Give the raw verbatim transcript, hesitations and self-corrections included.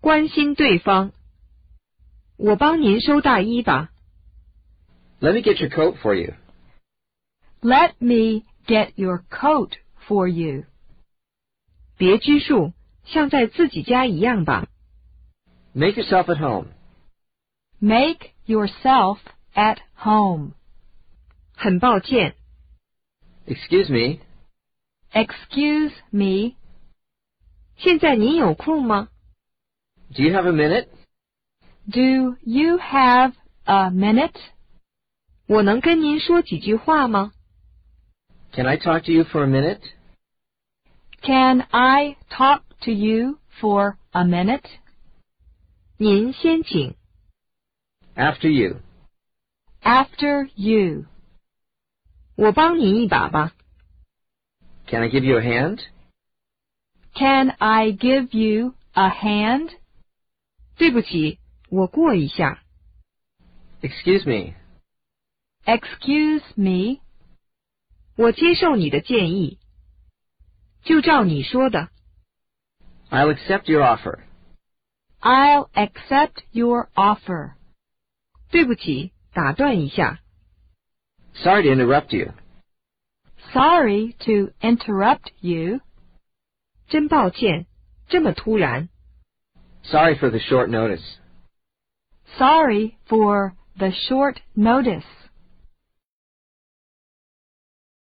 关心对方。我帮您收大衣吧。 Let me get your coat for you. Let me get your coat for you. 别拘束，像在自己家一样吧。 Make yourself at home. Make yourself at home. 很抱歉。 Excuse me. Excuse me. 现在您有空吗？ Do you have a minute? Do you have a minute? 我能跟您说几句话吗？ Can I talk to you for a minute? Can I talk to you for a minute? 您先请。 After you. After you. 我帮您一把吧。 Can I give you a hand? Can I give you a hand? 对不起，我过一下。 Excuse me. Excuse me. 我接受你的建议。就照你说的。 I'll accept your offer. I'll accept your offer. 对不起，打断一下。 Sorry to interrupt you. Sorry to interrupt you. 真抱歉，这么突然。 Sorry for the short notice. Sorry for the short notice.